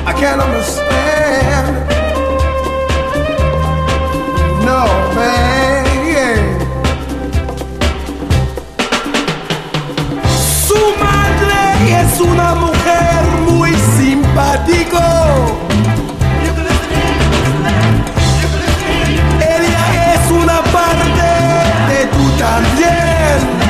I can't understand. No, man, yeah. Su madre es una mujer muy simpático. Ella es una parte de tú también.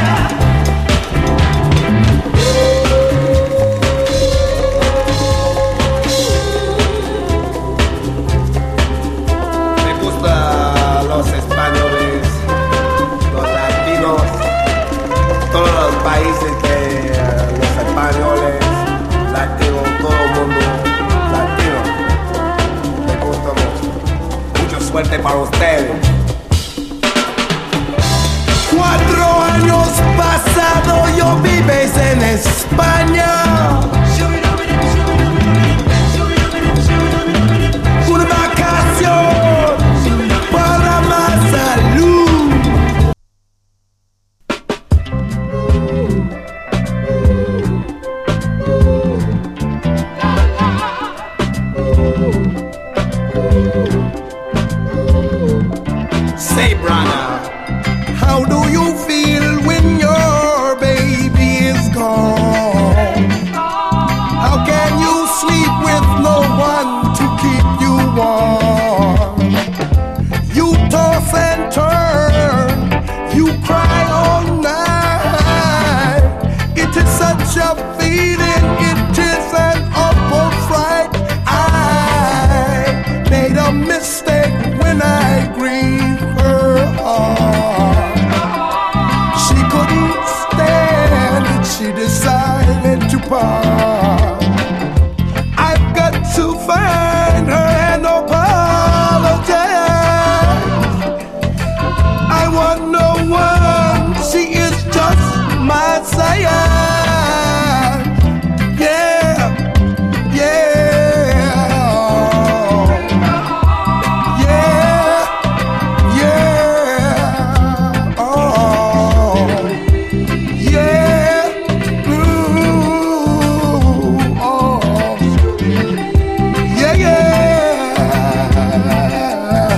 Los españoles, los latinos, todos los países de los españoles, latinos, todo el mundo latino. Me gusta mucho. Mucha suerte para ustedes. 4 años pasados yo vives en España. Una vacación para más salud. Say, brother, how do you feel when your baby is gone? How can you sleep with no one to keep you warm? You toss and turn, you cry all night. It is such a feeling, it is an awful fright. I made a mistake when I grieved her heart. She couldn't stand it, she decided to part. I've got to find her and apologize. I want no one, she is just my sire. Yeah, yeah, yeah, yeah, oh, yeah, ooh, oh, yeah, yeah.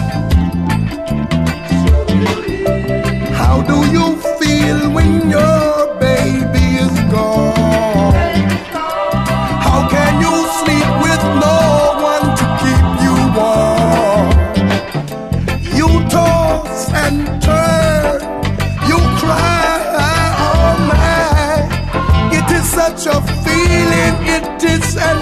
How do you feel when your baby is gone? How can you sleep with no one to keep you warm? You toss and turn, you cry all night. It is such a feeling, it is an